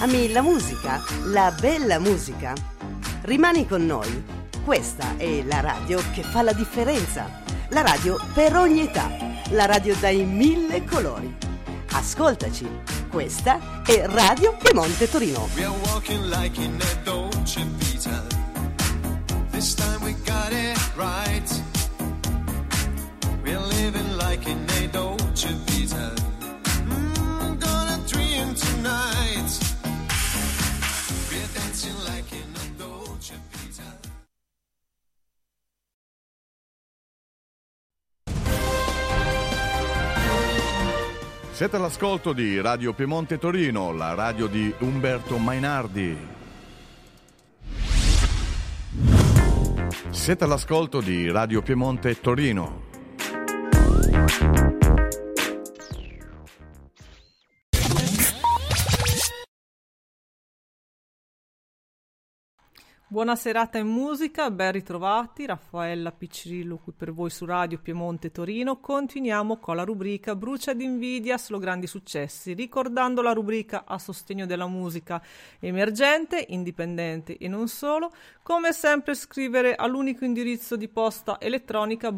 Ami la musica, la bella musica? Rimani con noi. Questa è la radio che fa la differenza. La radio per ogni età. La radio dai 1000 colori. Ascoltaci. Questa è Radio Piemonte Torino. We are walking like in a Dolce Vita. This time we got it right. We are living like in a Dolce Vita. Gonna dream tonight. We are dancing like in a Dolce Vita. Siete all'ascolto di Radio Piemonte Torino, la radio di Umberto Mainardi. Siete all'ascolto di Radio Piemonte Torino. Buona serata in musica, ben ritrovati, Raffaella Piccirillo qui per voi su Radio Piemonte Torino. Continuiamo con la rubrica Brucia d'invidia solo grandi successi, ricordando la rubrica a sostegno della musica emergente, indipendente e non solo. Come sempre scrivere all'unico indirizzo di posta elettronica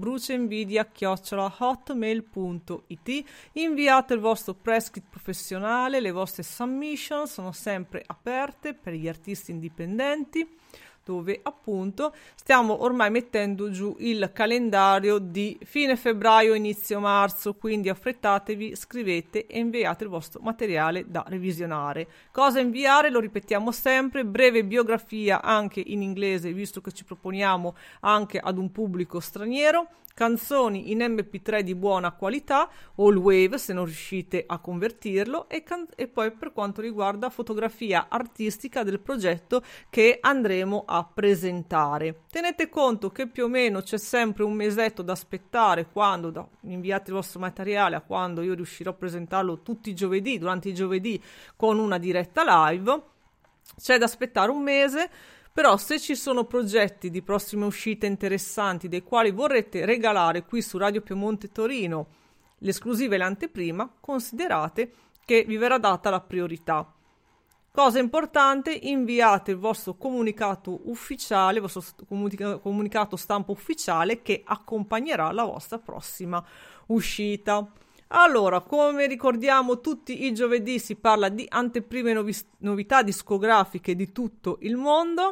bruciainvidia@hotmail.it. Inviate il vostro press kit professionale, le vostre submission sono sempre aperte per gli artisti indipendenti, dove appunto stiamo ormai mettendo giù il calendario di fine febbraio, inizio marzo, quindi affrettatevi, scrivete e inviate il vostro materiale da revisionare. Cosa inviare? Lo ripetiamo sempre: breve biografia anche in inglese, visto che ci proponiamo anche ad un pubblico straniero, canzoni in MP3 di buona qualità, all wave se non riuscite a convertirlo, e poi per quanto riguarda fotografia artistica del progetto che andremo a presentare. Tenete conto che più o meno c'è sempre un mesetto da aspettare quando inviate il vostro materiale a quando io riuscirò a presentarlo tutti i giovedì, durante i giovedì con una diretta live. C'è da aspettare un mese. Però se ci sono progetti di prossime uscite interessanti dei quali vorrete regalare qui su Radio Piemonte Torino l'esclusiva e l'anteprima, considerate che vi verrà data la priorità. Cosa importante: inviate il vostro comunicato ufficiale, il vostro comunicato stampa ufficiale che accompagnerà la vostra prossima uscita. Allora, come ricordiamo tutti i giovedì, si parla di anteprime novità discografiche di tutto il mondo.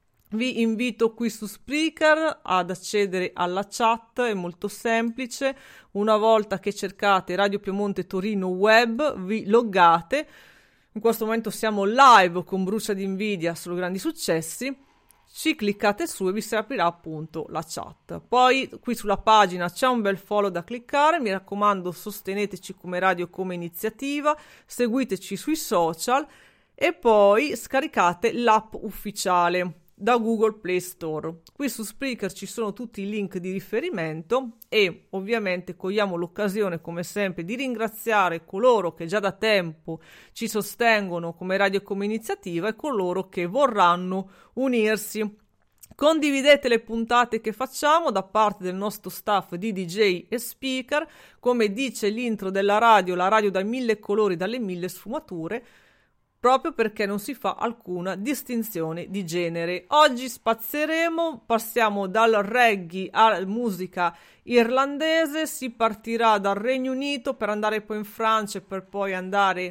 Vi invito qui su Spreaker ad accedere alla chat, è molto semplice. Una volta che cercate Radio Piemonte Torino Web, vi loggate. In questo momento siamo live con Brucia d'invidia solo grandi successi. Ci cliccate su e vi si aprirà appunto la chat. Poi qui sulla pagina c'è un bel follow da cliccare. Mi raccomando, sosteneteci come radio, come iniziativa, seguiteci sui social e poi scaricate l'app ufficiale da Google Play Store. Qui su Spreaker ci sono tutti i link di riferimento e ovviamente cogliamo l'occasione come sempre di ringraziare coloro che già da tempo ci sostengono come radio e come iniziativa e coloro che vorranno unirsi. Condividete le puntate che facciamo da parte del nostro staff di DJ e speaker. Come dice l'intro della radio, la radio dai 1000 colori, dalle 1000 sfumature, proprio perché non si fa alcuna distinzione di genere. Oggi spazieremo, passiamo dal reggae alla musica irlandese, si partirà dal Regno Unito per andare poi in Francia e per poi andare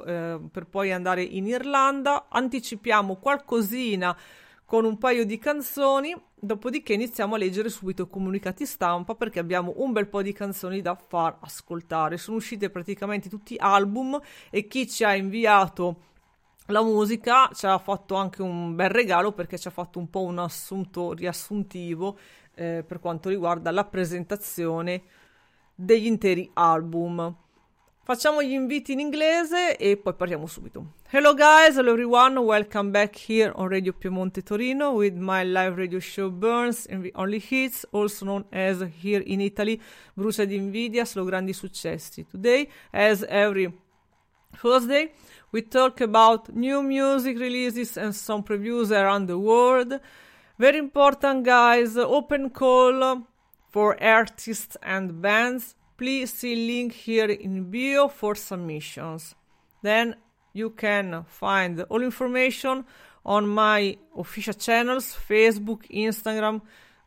in Irlanda. Anticipiamo qualcosina con un paio di canzoni, dopodiché iniziamo a leggere subito i comunicati stampa perché abbiamo un bel po' di canzoni da far ascoltare. Sono uscite praticamente tutti album e chi ci ha inviato la musica ci ha fatto anche un bel regalo perché ci ha fatto un po' un assunto riassuntivo per quanto riguarda la presentazione degli interi album. Facciamo gli inviti in inglese e poi partiamo subito. Hello guys, hello everyone, welcome back here on Radio Piemonte Torino with my live radio show Burns and the Only Hits, also known as here in Italy Brucia d'invidia, solo grandi successi. Today, as every Thursday, we talk about new music releases and some previews around the world. Very important guys, open call for artists and bands. Please see link here in bio for submissions. Then you can find all information on my official channels, Facebook, Instagram,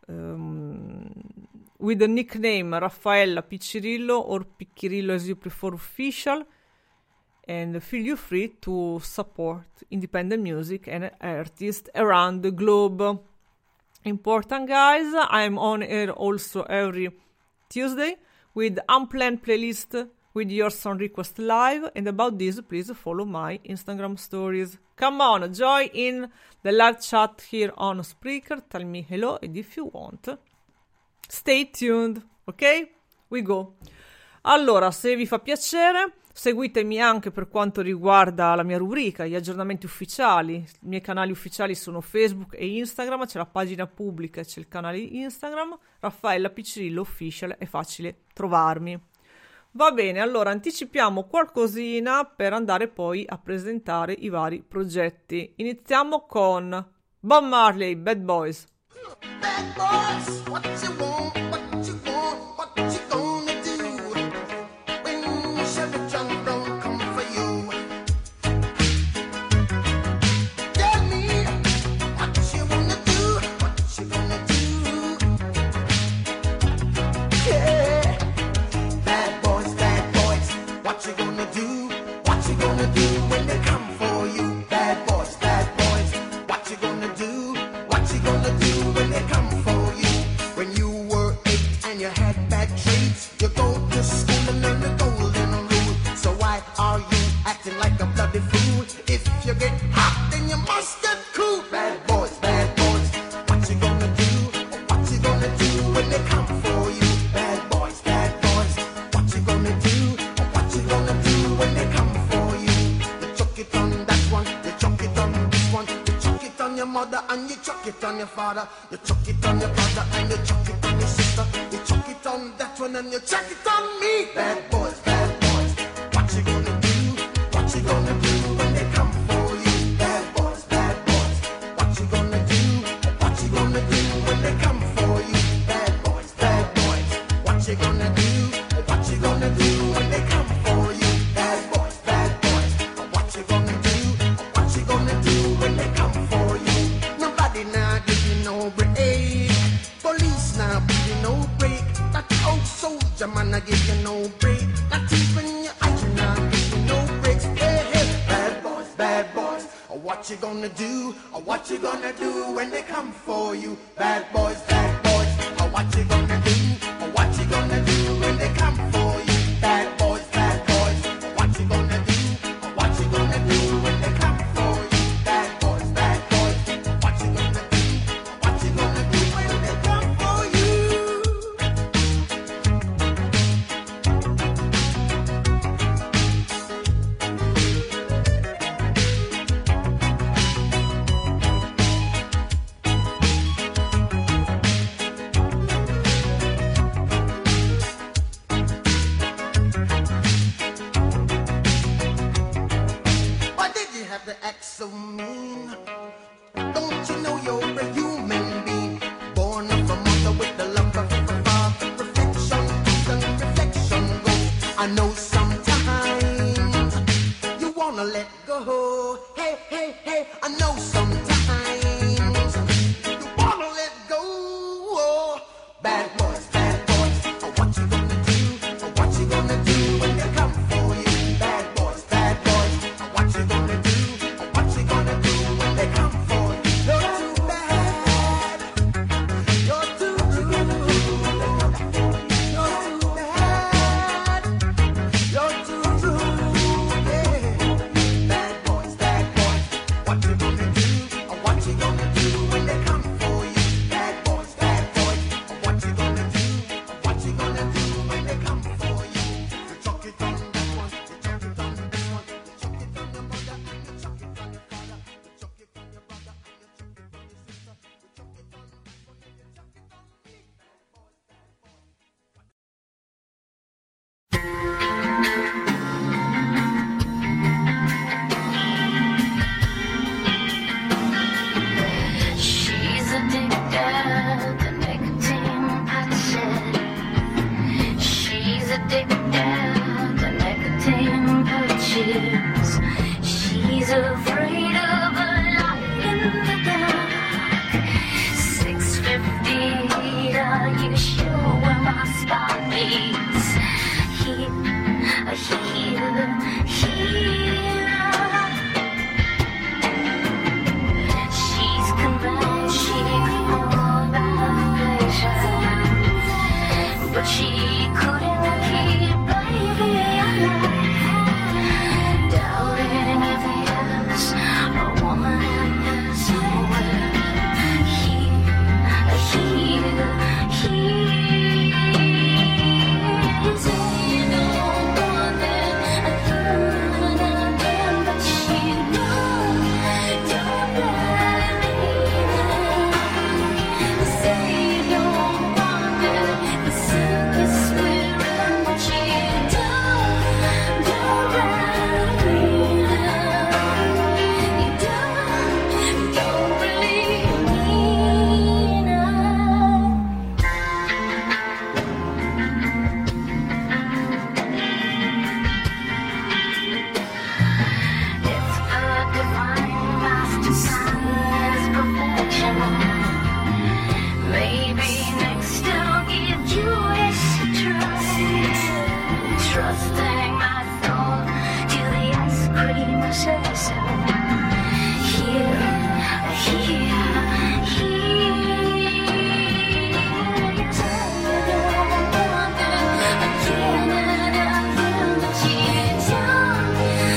with the nickname Raffaella Piccirillo or Piccirillo as you prefer official, and feel free to support independent music and artists around the globe. Important, guys, I'm on air also every Tuesday with unplanned playlist with your song request live, and about this please follow my Instagram stories. Come on, join in the live chat here on Spreaker, tell me hello, and if you want stay tuned, ok? We go. Allora, se vi fa piacere, seguitemi anche per quanto riguarda la mia rubrica, gli aggiornamenti ufficiali. I miei canali ufficiali sono Facebook e Instagram, c'è la pagina pubblica e c'è il canale Instagram, Raffaella Piccirillo Official, è facile trovarmi. Va bene, allora anticipiamo qualcosina per andare poi a presentare i vari progetti. Iniziamo con Bob Marley, Bad Boys. Bad boys, what you want, what you want, what you gonna do when Chevy John don't come for you? Tell me what you wanna do, what you gonna do? Yeah, bad boys, what you gonna do? What you gonna do when they come for you? Bad boys, what you gonna do? What you gonna do when they come for you? When you were 8 and you had bad traits, you go to school and learn the golden rule. So why are you acting like a bloody fool? If you get hot, then you must get cool. Bad boys, what you gonna do? What you gonna do when they come for you? Bad boys, what you gonna do? What you gonna do when they come for you? You chuck it on that one, you chuck it on this one, you chuck it on your mother and you chuck it on your father, you chuck it on your brother and you chuck it on your sister, you chuck it on that one and you chuck it on me. Bad boys, what you gonna do? What you gonna do when they come for you? Bad boys, what you gonna do? What you gonna do when they come for you? Bad boys, what you gonna do? What you gonna do when they come for you? Bad boys, what you gonna do? What you gonna do when they come for you? Nobody now give you no break. Police now give you no break. That old soldier man I give you no break. Not even your eyes now give you no breaks. Hey, bad boys, what you gonna do? What you gonna do when they come for you? Bad boys, what you gonna do? What you gonna do when they come for you? Bad boys, what you gonna do? What you gonna do when they come for you? Bad boys, what you gonna do? What you gonna do when they come for you? Why did you have to act so mean? Don't you know you're a human being? Born of a mother with the love of a father. Reflection comes and reflection goes. I know sometimes you wanna let go. Hey, I know sometimes you wanna let go. Bad boys, what you gonna do? What you gonna do when they come for you? Bad boys, what you gonna do? What you gonna do when they come for you? You're too bad. You're too rude. You're too bad. You're too rude. Yeah. Bad boys, what you gonna do? What you gonna do when they come for you? Bad boys, what you gonna do? What you gonna do when they come for you? You chuck it on that one, you chuck it on this one, you chuck it on your mother and you chuck it on your father, you chuck it on your brother and you chuck it on your sister, you chuck it on that one and you chuck it on me. She's addicted to nicotine patches. She's addicted to nicotine patches. She's afraid of a light in the dark. 6:50, are you sure where my spot is? Here, here, here. She's convinced she's more than a patient, but she couldn't keep baby alive. Doubting if there's a woman somewhere. Here, here, here. Say you don't want it again and again, but she don't really mean it. Say you don't want it, the sickest we're in, but she don't really mean it. You don't really mean it. It's her divine master science perfection. Maybe next I'll give Judas a try. Trusting my soul to the ice cream obsession. Here, here, here. You say you don't want it again and again, but you don't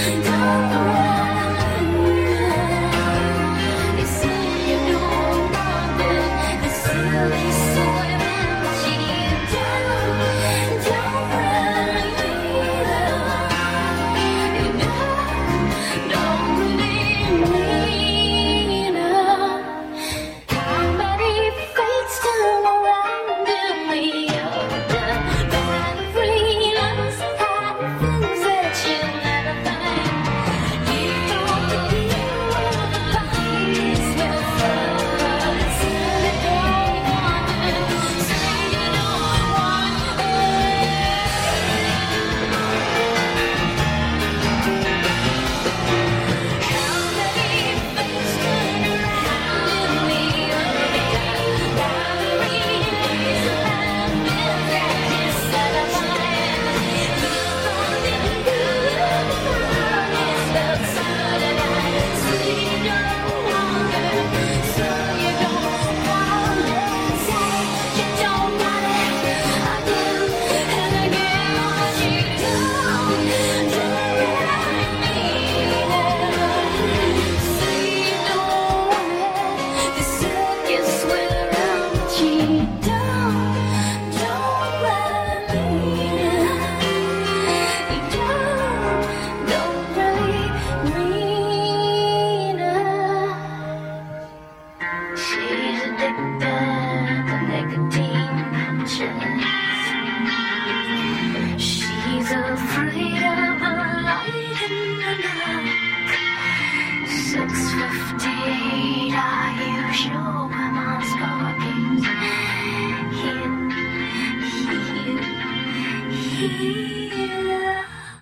really. You say you don't want it, the silly soy, but you don't really mean it. You don't really mean it. How many fates turn around in the other? Freedoms and things that you never find. You don't believe when the body's with us. Say you don't want it. Say you don't want How many fates turn around in the other? Batteries and things that you set aside. You don't even do the promise outside of that. Say you don't want it. Say you don't want it. Say you don't want it again and again, but you don't really mean it. Say you don't want it. The circus we're on, but you don't really mean it. You don't really mean it. She's addicted to nicotine patches. She's afraid of the light in the dark. 6:50, are you sure where my spark is? Here, here, here.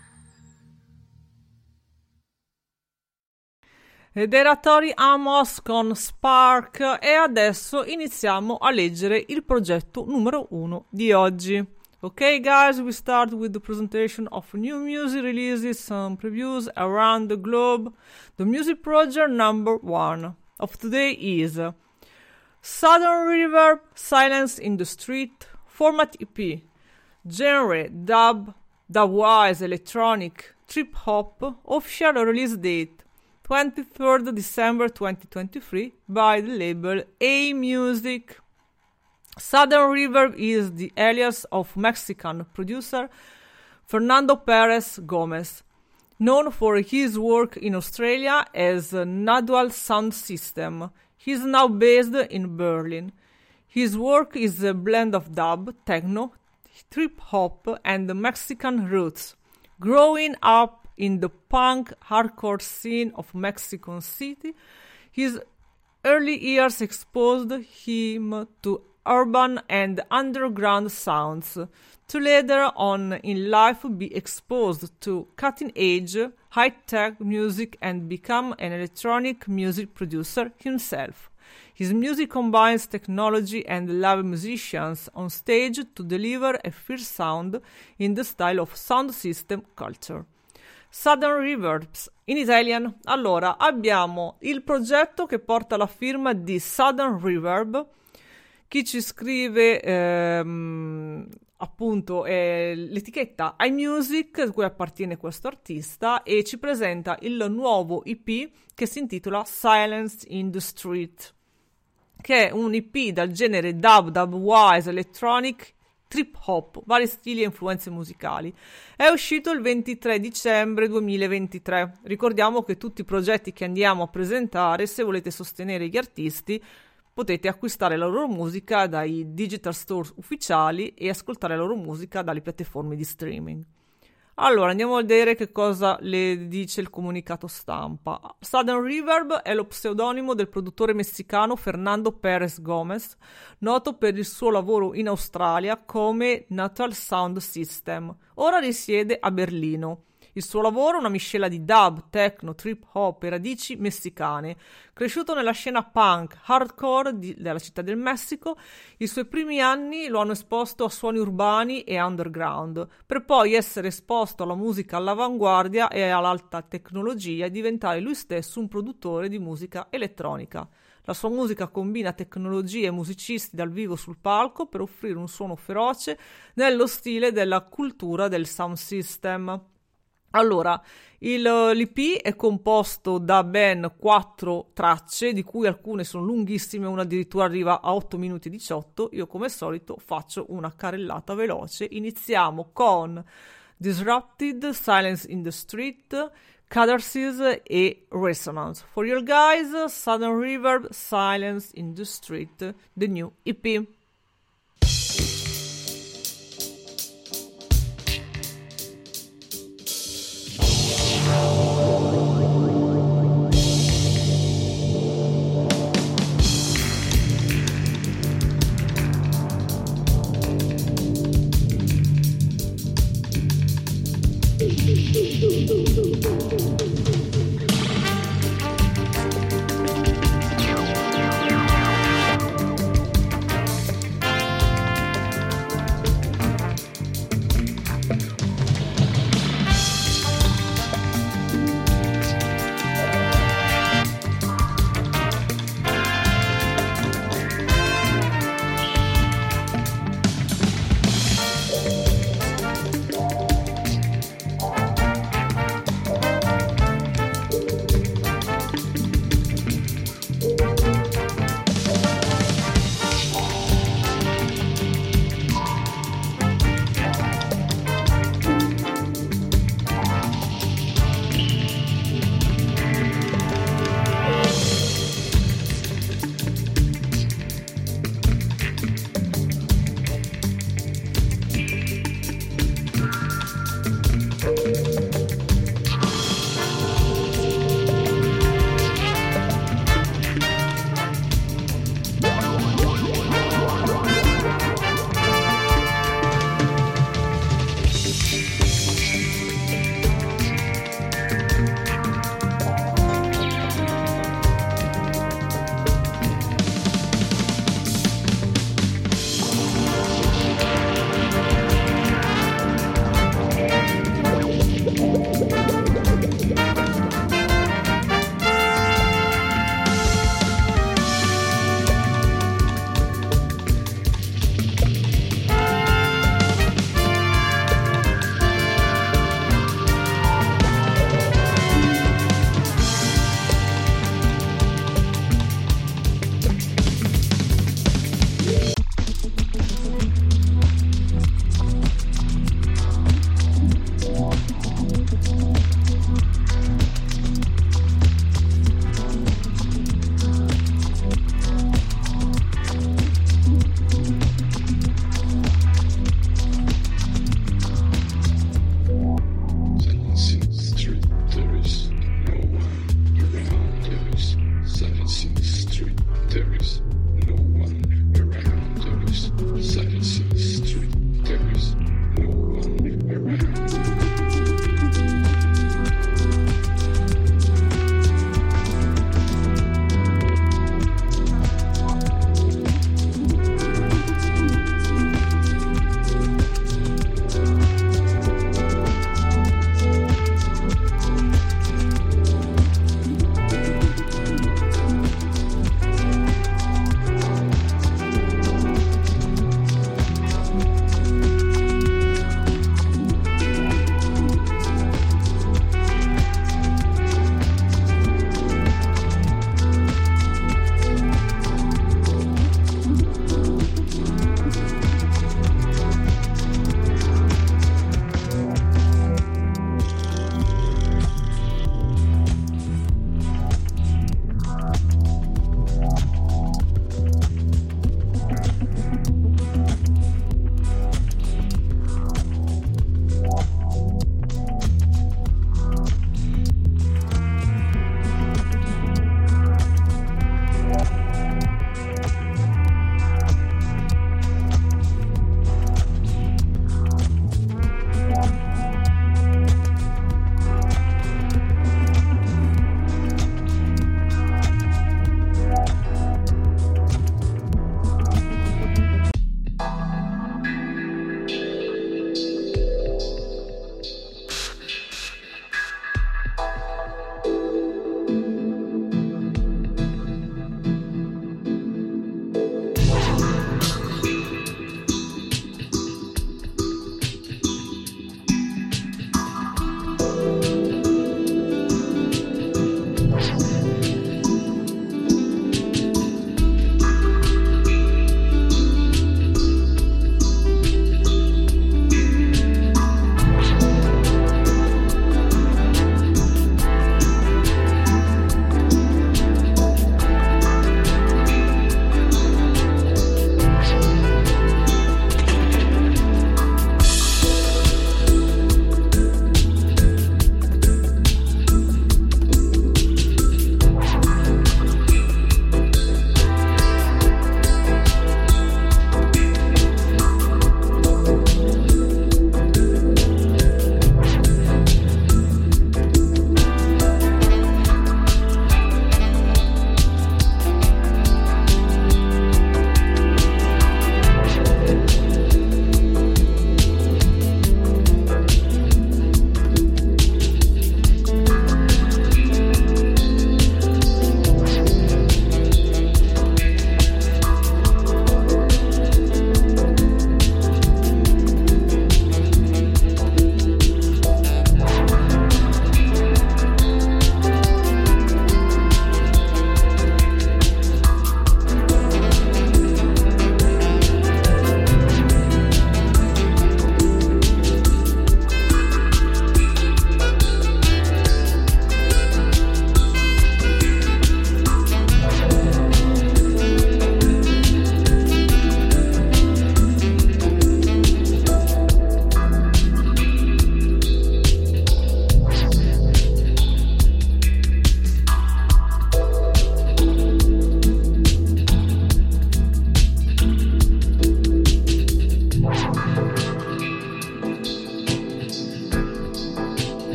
Ed era Tori Amos con Spark e adesso iniziamo a leggere il progetto numero 1 di oggi. Okay guys, we start with the presentation of new music releases, some previews around the globe. The music project number 1 of today is Southern River, Silence in the Street, format EP, genre dub, dubwise electronic, trip hop, official release date 23rd December 2023 by the label A Music. Southern River is the alias of Mexican producer Fernando Perez Gomez, known for his work in Australia as Nadual Sound System. He is now based in Berlin. His work is a blend of dub, techno, trip-hop and Mexican roots. Growing up in the punk hardcore scene of Mexico City, his early years exposed him to urban and underground sounds, to later on in life be exposed to cutting-edge, high-tech music and become an electronic music producer himself. His music combines technology and live musicians on stage to deliver a fierce sound in the style of sound system culture. Southern Reverbs in Italian. Allora, abbiamo il progetto che porta la firma di Southern Reverb. Chi ci scrive appunto è l'etichetta iMusic, a cui appartiene questo artista, e ci presenta il nuovo EP che si intitola Silence in the Street, che è un EP dal genere dubwise, electronic, trip hop, vari stili e influenze musicali. È uscito il 23 dicembre 2023. Ricordiamo che tutti i progetti che andiamo a presentare, se volete sostenere gli artisti, potete acquistare la loro musica dai digital store ufficiali e ascoltare la loro musica dalle piattaforme di streaming. Allora, andiamo a vedere che cosa le dice il comunicato stampa. Southern Reverb è lo pseudonimo del produttore messicano Fernando Pérez Gómez, noto per il suo lavoro in Australia come Natural Sound System. Ora risiede a Berlino. Il suo lavoro è una miscela di dub, techno, trip hop e radici messicane. Cresciuto nella scena punk, hardcore della città del Messico, i suoi primi anni lo hanno esposto a suoni urbani e underground, per poi essere esposto alla musica all'avanguardia e all'alta tecnologia e diventare lui stesso un produttore di musica elettronica. La sua musica combina tecnologie e musicisti dal vivo sul palco per offrire un suono feroce nello stile della cultura del sound system. Allora, l'EP è composto da ben 4 tracce, di cui alcune sono lunghissime, una addirittura arriva a 8 minuti e 18. Io come solito faccio una carrellata veloce. Iniziamo con Disrupted, Silence in the Street, Catharsis e Resonance. For your guys, Southern Reverb, Silence in the Street, the new EP.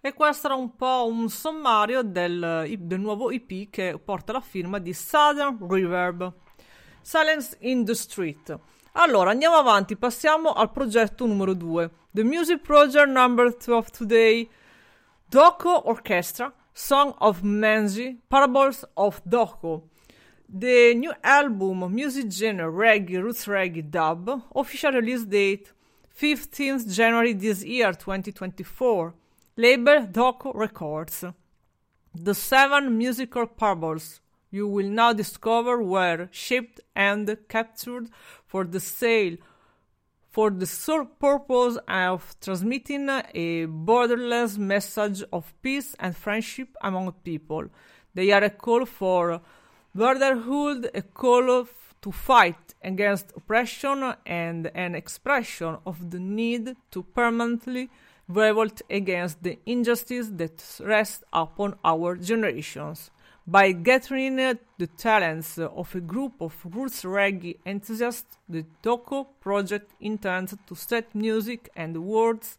E questo era un po' un sommario del nuovo EP che porta la firma di Southern Reverb, Silence in the Street. Allora, andiamo avanti, passiamo al progetto numero 2, The Music Project number 2 of today, Doko Orchestra, Song of Manji, Parables of Doko. The new album, music genre reggae, roots reggae dub, official release date 15th January this year, 2024. Label Doko Records. The 7 musical parables you will now discover were shaped and captured for the sale for the sole purpose of transmitting a borderless message of peace and friendship among people. They are a call for brotherhood, a call to fight against oppression, and an expression of the need to permanently revolt against the injustice that rests upon our generations. By gathering the talents of a group of roots reggae enthusiasts, the Doko project intends to set music and words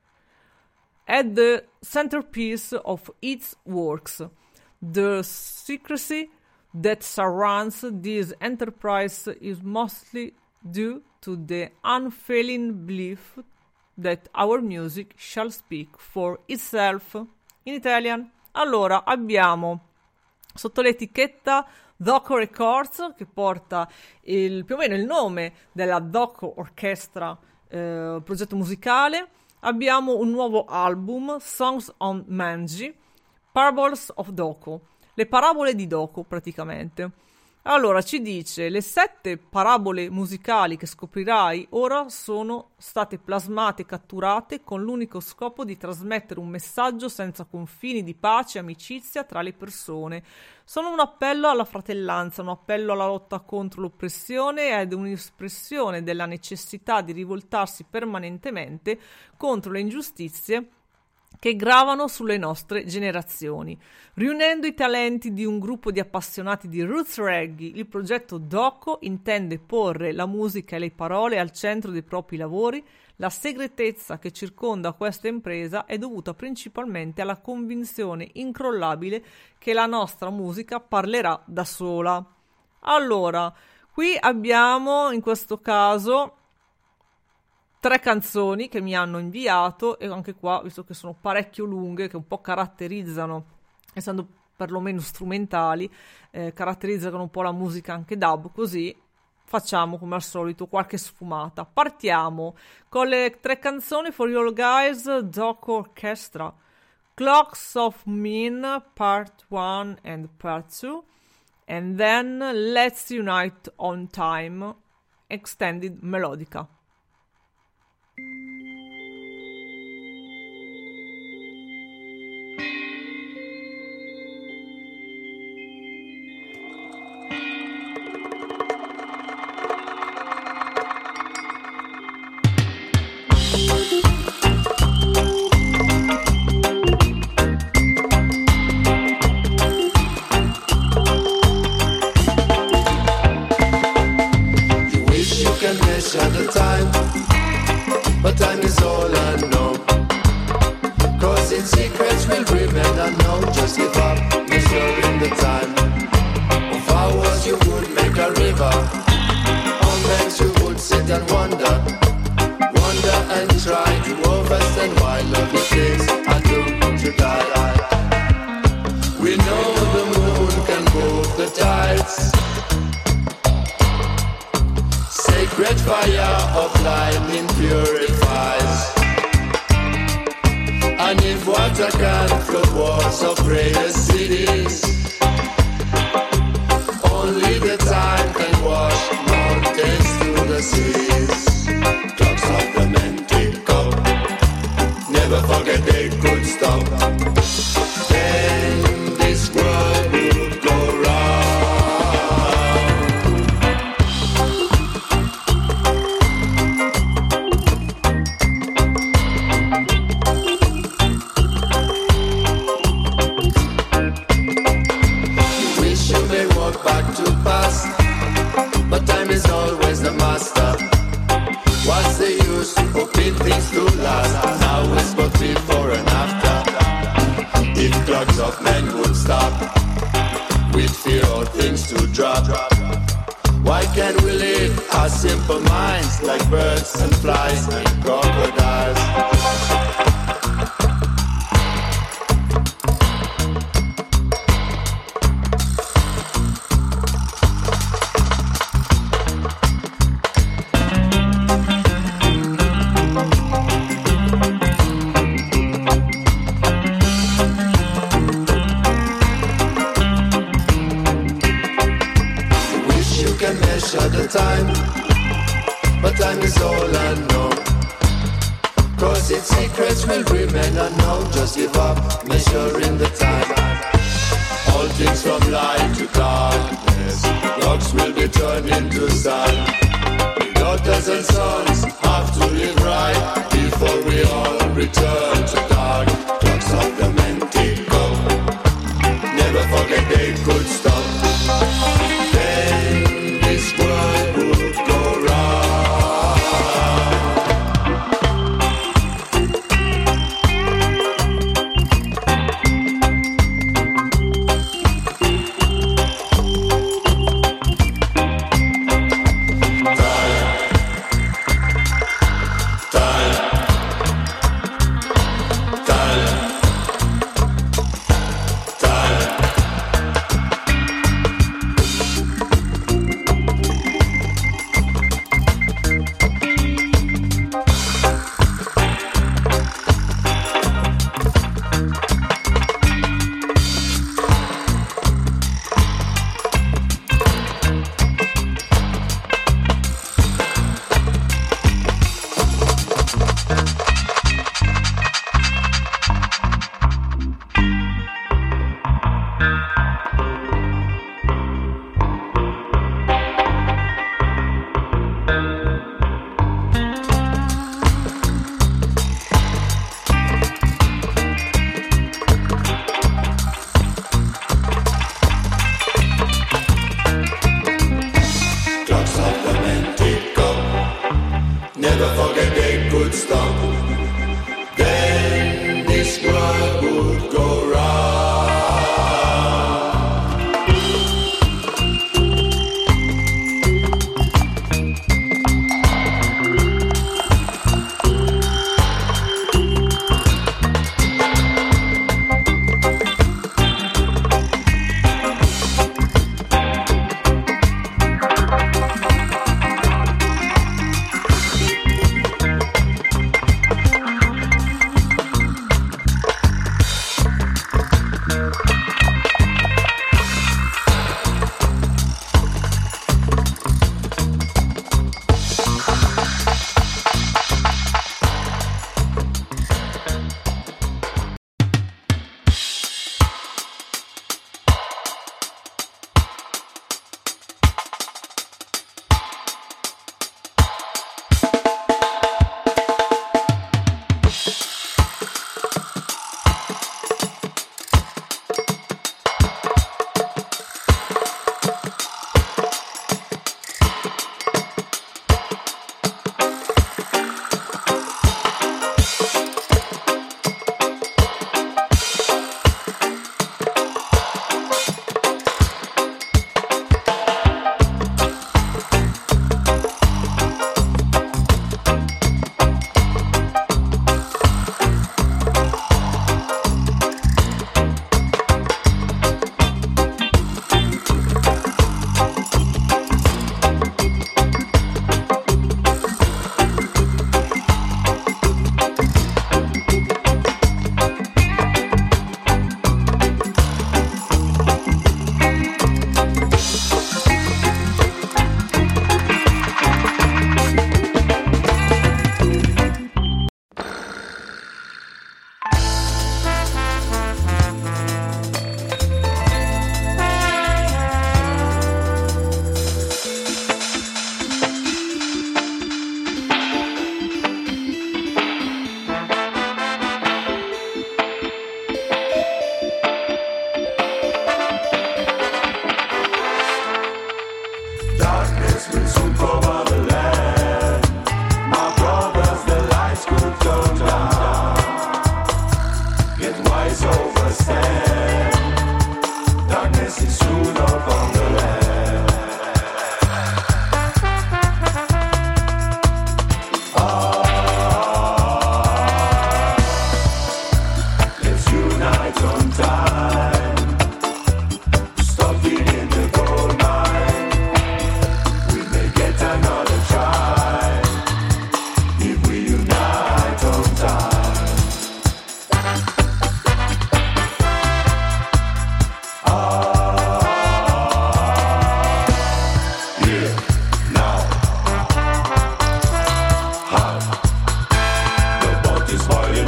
at the centerpiece of its works. The secrecy that surrounds this enterprise is mostly due to the unfailing belief that our music shall speak for itself. In Italian, allora abbiamo sotto l'etichetta Doko Records, che porta più o meno il nome della Doko Orchestra, progetto musicale. Abbiamo un nuovo album, Songs on Manji, Parables of Doko, le parabole di Doko praticamente. Allora ci dice: le 7 parabole musicali che scoprirai ora sono state plasmate e catturate con l'unico scopo di trasmettere un messaggio senza confini di pace e amicizia tra le persone. Sono un appello alla fratellanza, un appello alla lotta contro l'oppressione ed un'espressione della necessità di rivoltarsi permanentemente contro le ingiustizie che gravano sulle nostre generazioni. Riunendo i talenti di un gruppo di appassionati di roots reggae, il progetto Doko intende porre la musica e le parole al centro dei propri lavori. La segretezza che circonda questa impresa è dovuta principalmente alla convinzione incrollabile che la nostra musica parlerà da sola. Allora, qui abbiamo in questo caso 3 canzoni che mi hanno inviato, e anche qua, visto che sono parecchio lunghe, che un po' caratterizzano, essendo perlomeno strumentali, caratterizzano un po' la musica anche dub, così facciamo come al solito qualche sfumata. Partiamo con le 3 canzoni For You Guys, Doko Orchestra, Clocks of Min Part 1 and Part 2, and then Let's Unite on Time, Extended Melodica. The time, but time is all unknown. Cause its secrets will remain unknown. Just give up, measuring the time. Of hours you would make a river. On banks you would sit and wonder. Wonder and try to understand why lovely things are doomed to die. We know the moon can move the tides. Sacred fire of lightning purifies. And if water can flood walls of greatest cities, only the time can wash mountains to the seas. Clocks of the men tick up, never forget they could stop. Then this world would go round. But time is always the master. What's the use hoping things to last? Now it's but before and after. of men would stop. We'd fear all things to drop. Why can't we live our simple minds like birds and flies and crocodiles? Time, but time is all unknown. Cause its secrets will remain unknown. Just give up, measuring the time. All things from light to darkness, rocks will be turned into sun. The daughters and sons have to live right before we all return to dark. Clocks of the men tick up, never forget they could stop. Then this world would go round. Time,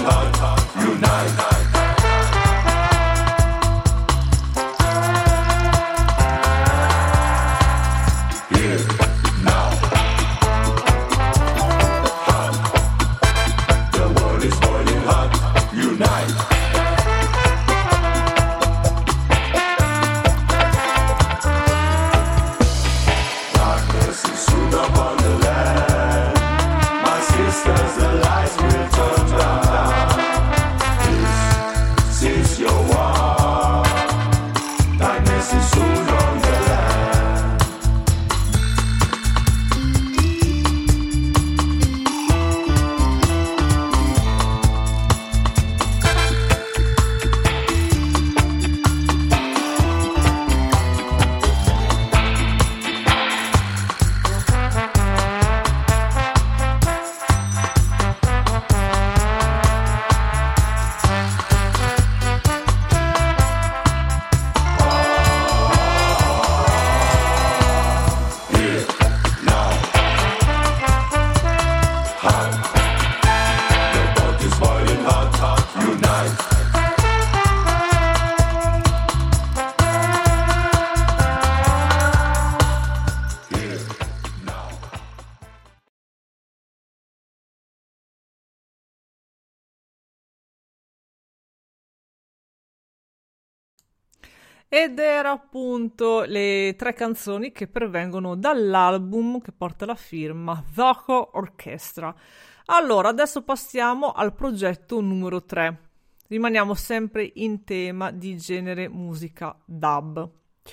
Ed era appunto le 3 canzoni che pervengono dall'album che porta la firma Zoho Orchestra. Allora, adesso passiamo al progetto numero 3. Rimaniamo sempre in tema di genere musica dub,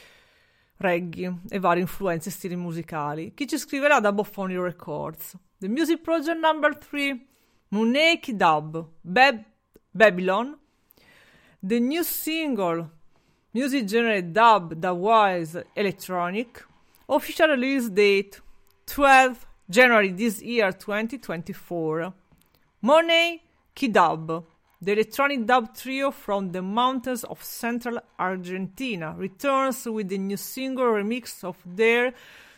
reggae e varie influenze e stili musicali. Chi ci scriverà da Boffoni Records? The Music Project number 3, Muneki Dub, Babylon. The new single, Music Genre Dub, Dubwise Electronic. Official release date, 12 January this year, 2024. Money Kidub, the electronic dub trio from the mountains of central Argentina, returns with the new single remix of their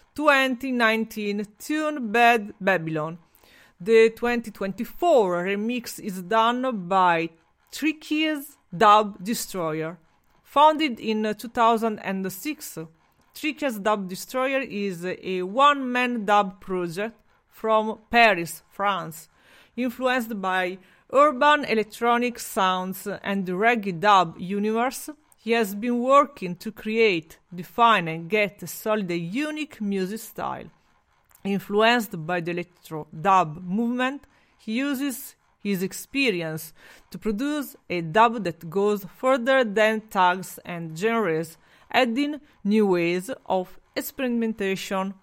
2019 tune Bad Babylon. The 2024 remix is done by Tricky's Dub Destroyer. Founded in 2006, Tricky's Dub Destroyer is a one-man dub project from Paris, France, influenced by urban electronic sounds and the reggae dub universe. He has been working to create, define and get a solid and unique music style. Influenced by the electro dub movement, he uses his experience to produce a dub that goes further than tags and genres, adding new ways of experimentation.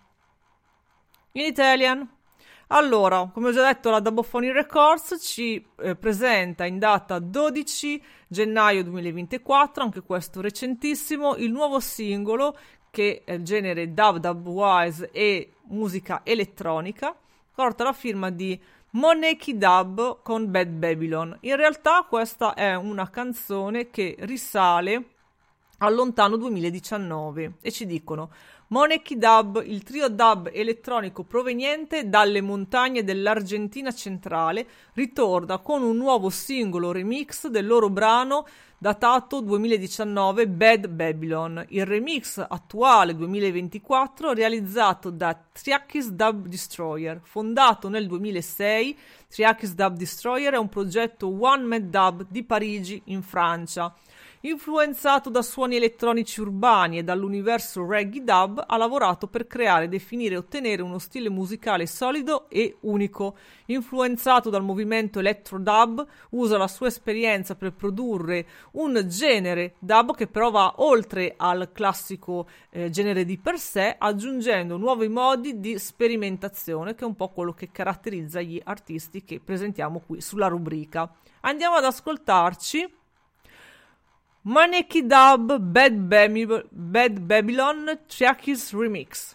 In Italian. Allora, come ho già detto, la Dabophony Records ci presenta in data 12 gennaio 2024, anche questo recentissimo, il nuovo singolo che è il genere dub, dubwise e musica elettronica, porta la firma di Moneki Dub con Bad Babylon. In realtà questa è una canzone che risale al lontano 2019 e ci dicono: Moneki Dub, il trio dub elettronico proveniente dalle montagne dell'Argentina centrale, ritorna con un nuovo singolo remix del loro brano datato 2019 Bad Babylon. Il remix attuale 2024 realizzato da Triakis Dub Destroyer. Fondato nel 2006, Triakis Dub Destroyer è un progetto one-man dub di Parigi in Francia. Influenzato da suoni elettronici urbani e dall'universo reggae dub, ha lavorato per creare, definire e ottenere uno stile musicale solido e unico. Influenzato dal movimento electro dub, usa la sua esperienza per produrre un genere dub che però va oltre al classico genere di per sé, aggiungendo nuovi modi di sperimentazione, che è un po' quello che caratterizza gli artisti che presentiamo qui sulla rubrica. Andiamo ad ascoltarci Moneki Dub Bad Babylon Triakis Remix.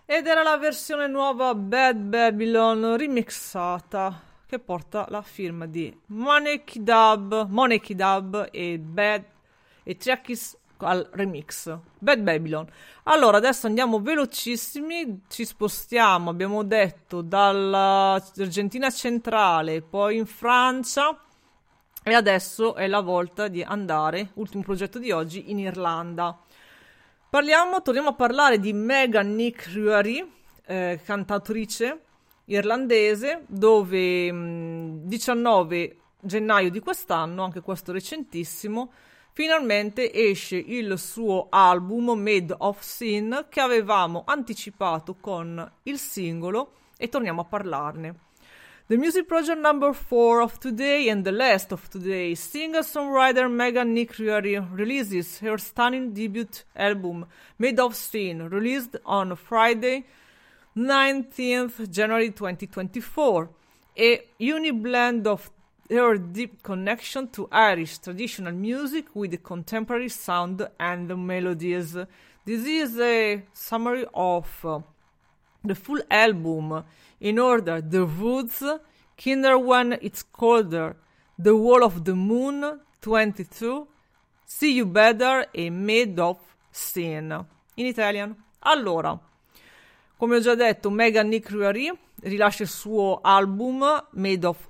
Ed era la versione nuova Bad Babylon remixata che porta la firma di Money Dub e Trackis al remix Bad Babylon. Allora adesso andiamo velocissimi, ci spostiamo, abbiamo detto, dall'Argentina centrale, poi in Francia e adesso è la volta di andare, ultimo progetto di oggi, in Irlanda. Torniamo a parlare di Megan Nick Ruari, cantatrice irlandese, dove 19 gennaio di quest'anno, anche questo recentissimo, finalmente esce il suo album Made of Sin, che avevamo anticipato con il singolo, e torniamo a parlarne. The music project number 4 of today and the last of today, singer-songwriter Megan Nick Ruari releases her stunning debut album Made of Sin, released on Friday 19th January 2024, a unique blend of her deep connection to Irish traditional music with the contemporary sound and the melodies. This is a summary of the full album in order: The Woods, Kinder When It's Colder, The Wall of the Moon, 22, See You Better e Made of Sin. In Italian. Allora, come ho già detto, Megan Nick Ruari rilascia il suo album Made of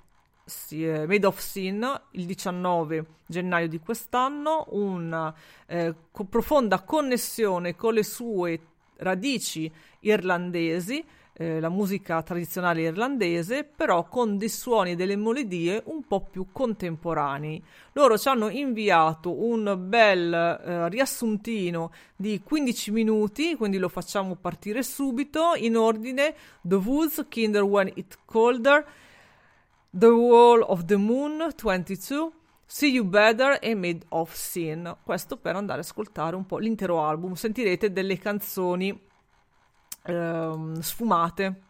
Sin il 19 gennaio di quest'anno, una profonda connessione con le sue radici irlandesi, la musica tradizionale irlandese, però con dei suoni e delle melodie un po' più contemporanei. Loro ci hanno inviato un bel riassuntino di 15 minuti, quindi lo facciamo partire subito in ordine: The Woods, Kinder When It's Colder, The Wall of the Moon, 22, See You Better e Made of Sin. Questo per andare ad ascoltare un po' l'intero album. Sentirete delle canzoni sfumate.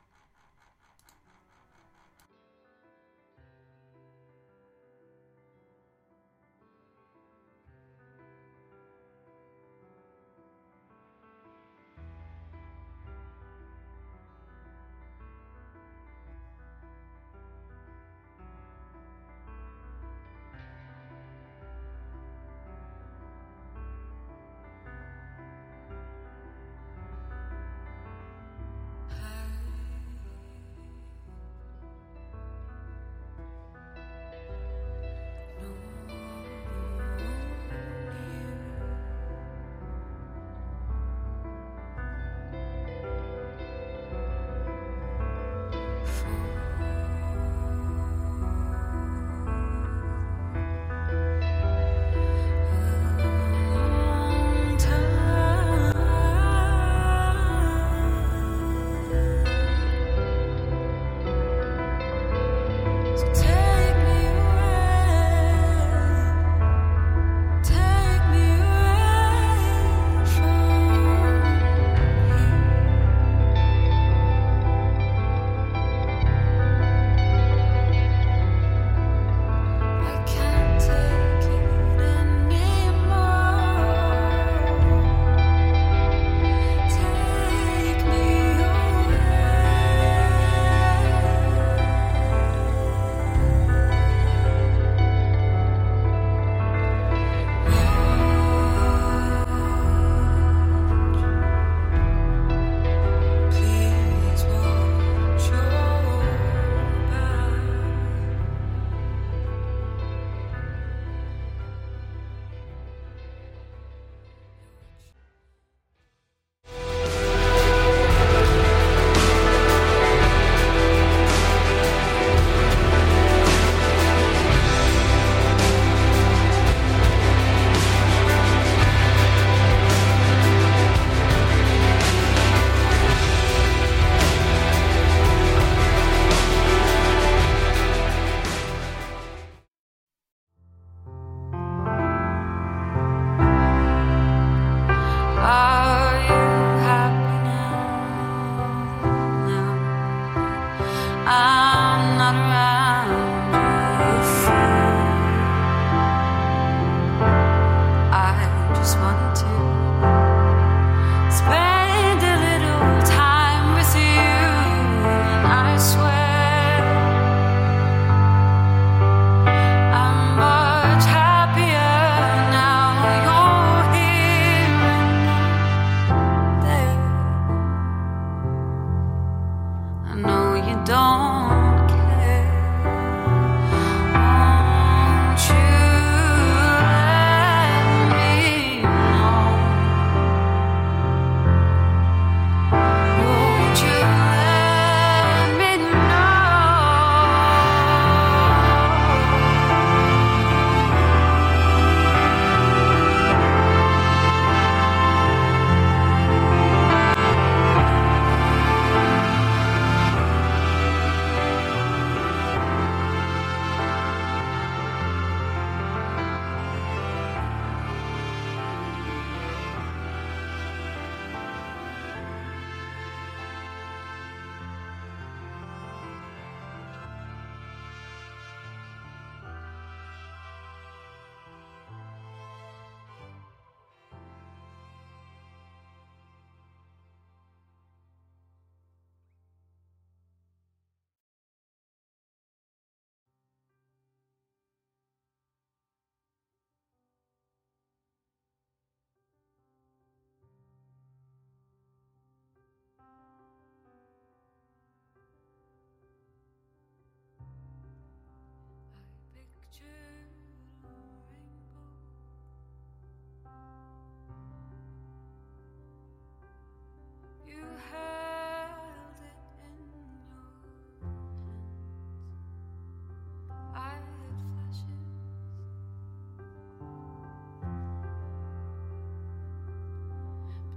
I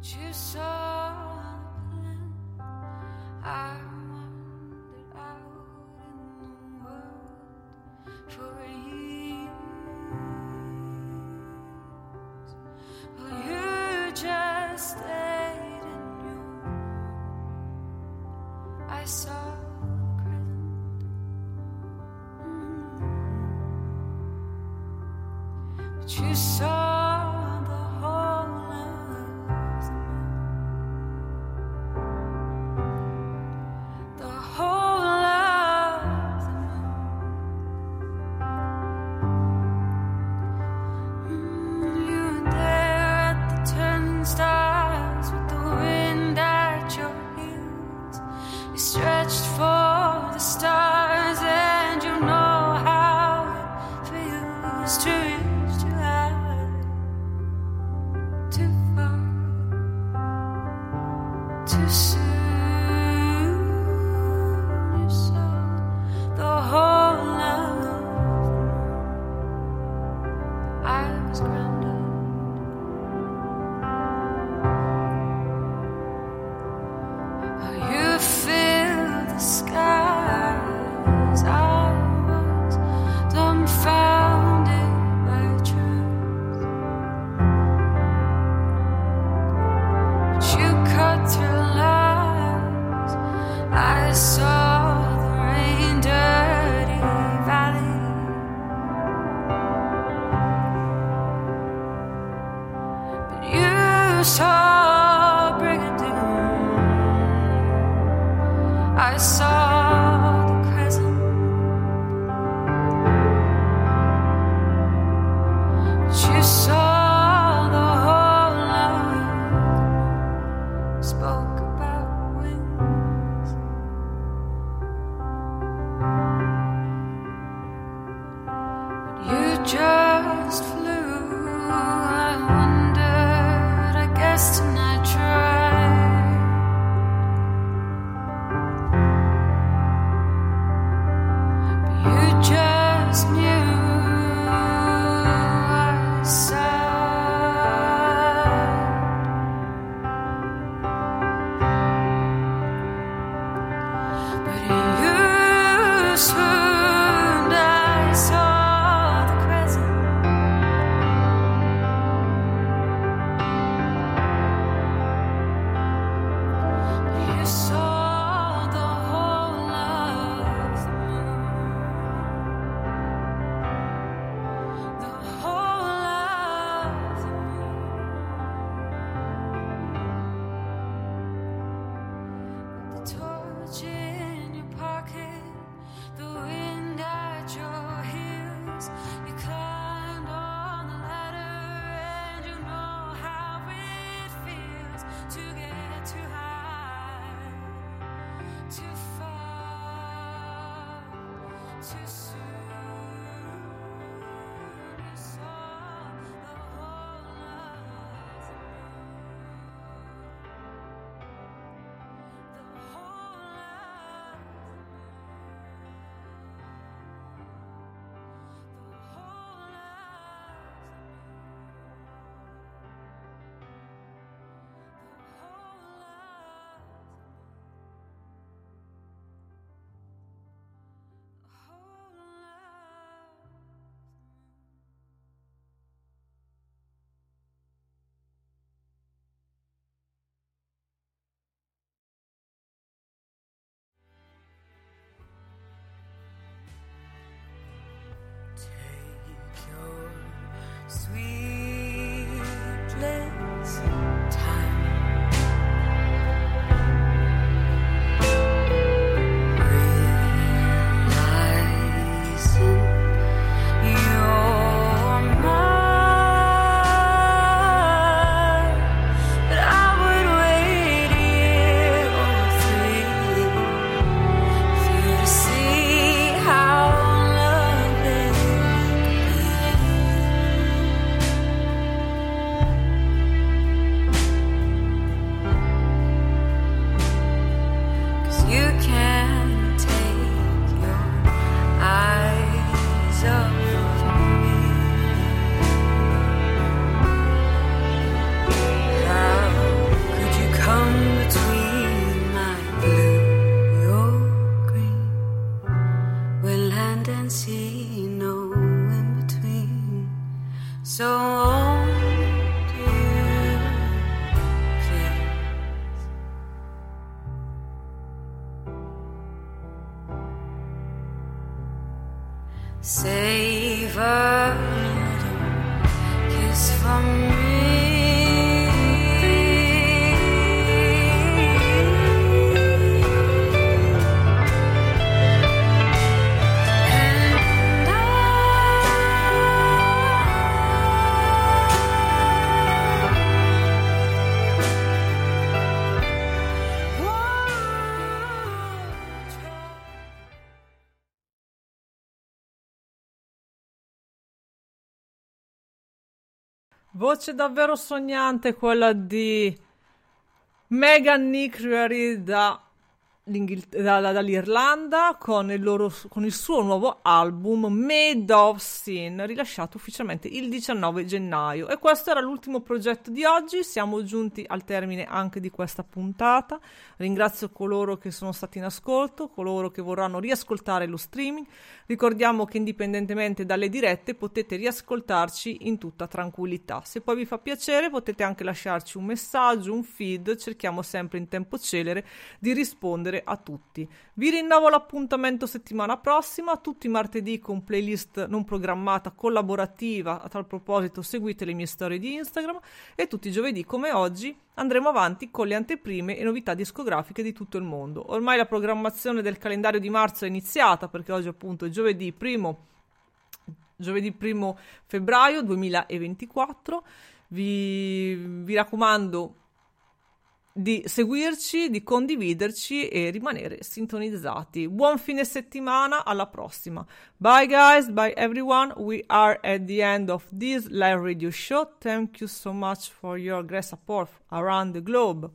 you saw the plan. I wandered out in the world for years. Well, you just stayed in your room. I saw the crescent, but you saw the whole of the whole of the moon. You were there at the turnstiles with the wind at your heels. You stretched for the stars, and you know how it feels to reach too high. Save a little kiss from me. Voce davvero sognante quella di Megan Nickery dall'Irlanda con il suo nuovo album Made of Sin, rilasciato ufficialmente il 19 gennaio. E questo era l'ultimo progetto di oggi. Siamo giunti al termine anche di questa puntata. Ringrazio coloro che sono stati in ascolto, coloro che vorranno riascoltare lo streaming. Ricordiamo che indipendentemente dalle dirette potete riascoltarci in tutta tranquillità. Se poi vi fa piacere potete anche lasciarci un messaggio, un feed, cerchiamo sempre in tempo celere di rispondere a tutti. Vi rinnovo l'appuntamento settimana prossima, tutti i martedì con playlist non programmata collaborativa. A tal proposito seguite le mie storie di Instagram, e tutti i giovedì come oggi andremo avanti con le anteprime e novità discografiche di tutto il mondo. Ormai la programmazione del calendario di marzo è iniziata, perché oggi appunto è giovedì 1 febbraio 2024. Vi raccomando di seguirci, di condividerci e rimanere sintonizzati. Buon fine settimana, alla prossima. Bye guys, bye everyone. We are at the end of this live radio show. Thank you so much for your great support around the globe.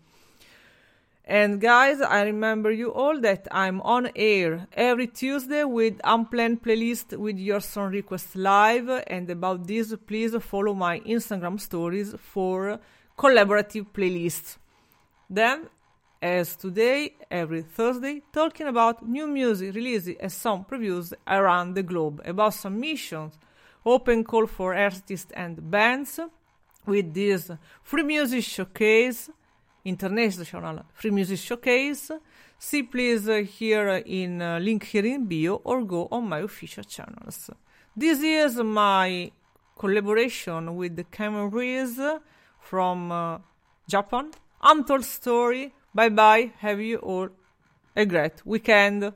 And guys, I remember you all that I'm on air every Tuesday with unplanned playlist with your song request live. And about this, please follow my Instagram stories for collaborative playlists. Then, as today, every Thursday, talking about new music releases and song previews around the globe, about submissions, open call for artists and bands, with this free music showcase, international free music showcase. See please here in link here in bio, or go on my official channels. This is my collaboration with the Cameron Reese from Japan. Untold Story. Bye bye. Have you all a great weekend.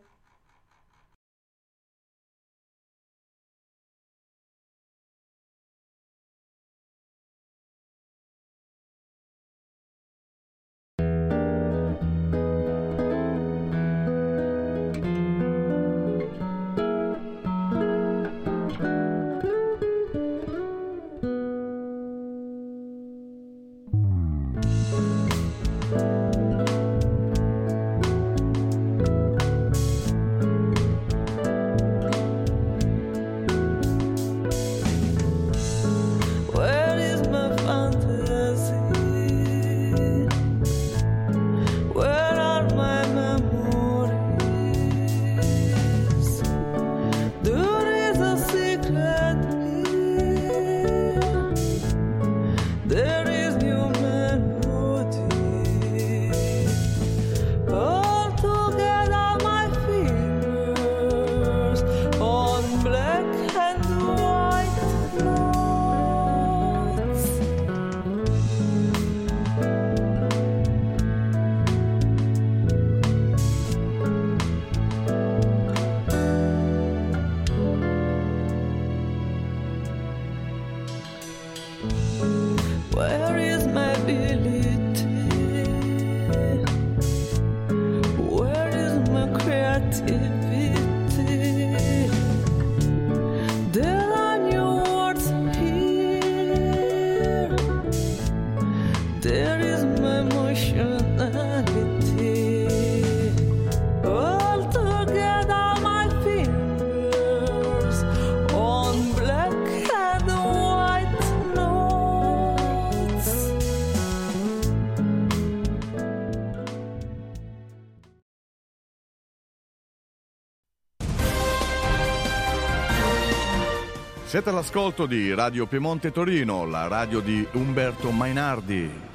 Siete all'ascolto di Radio Piemonte Torino, la radio di Umberto Mainardi.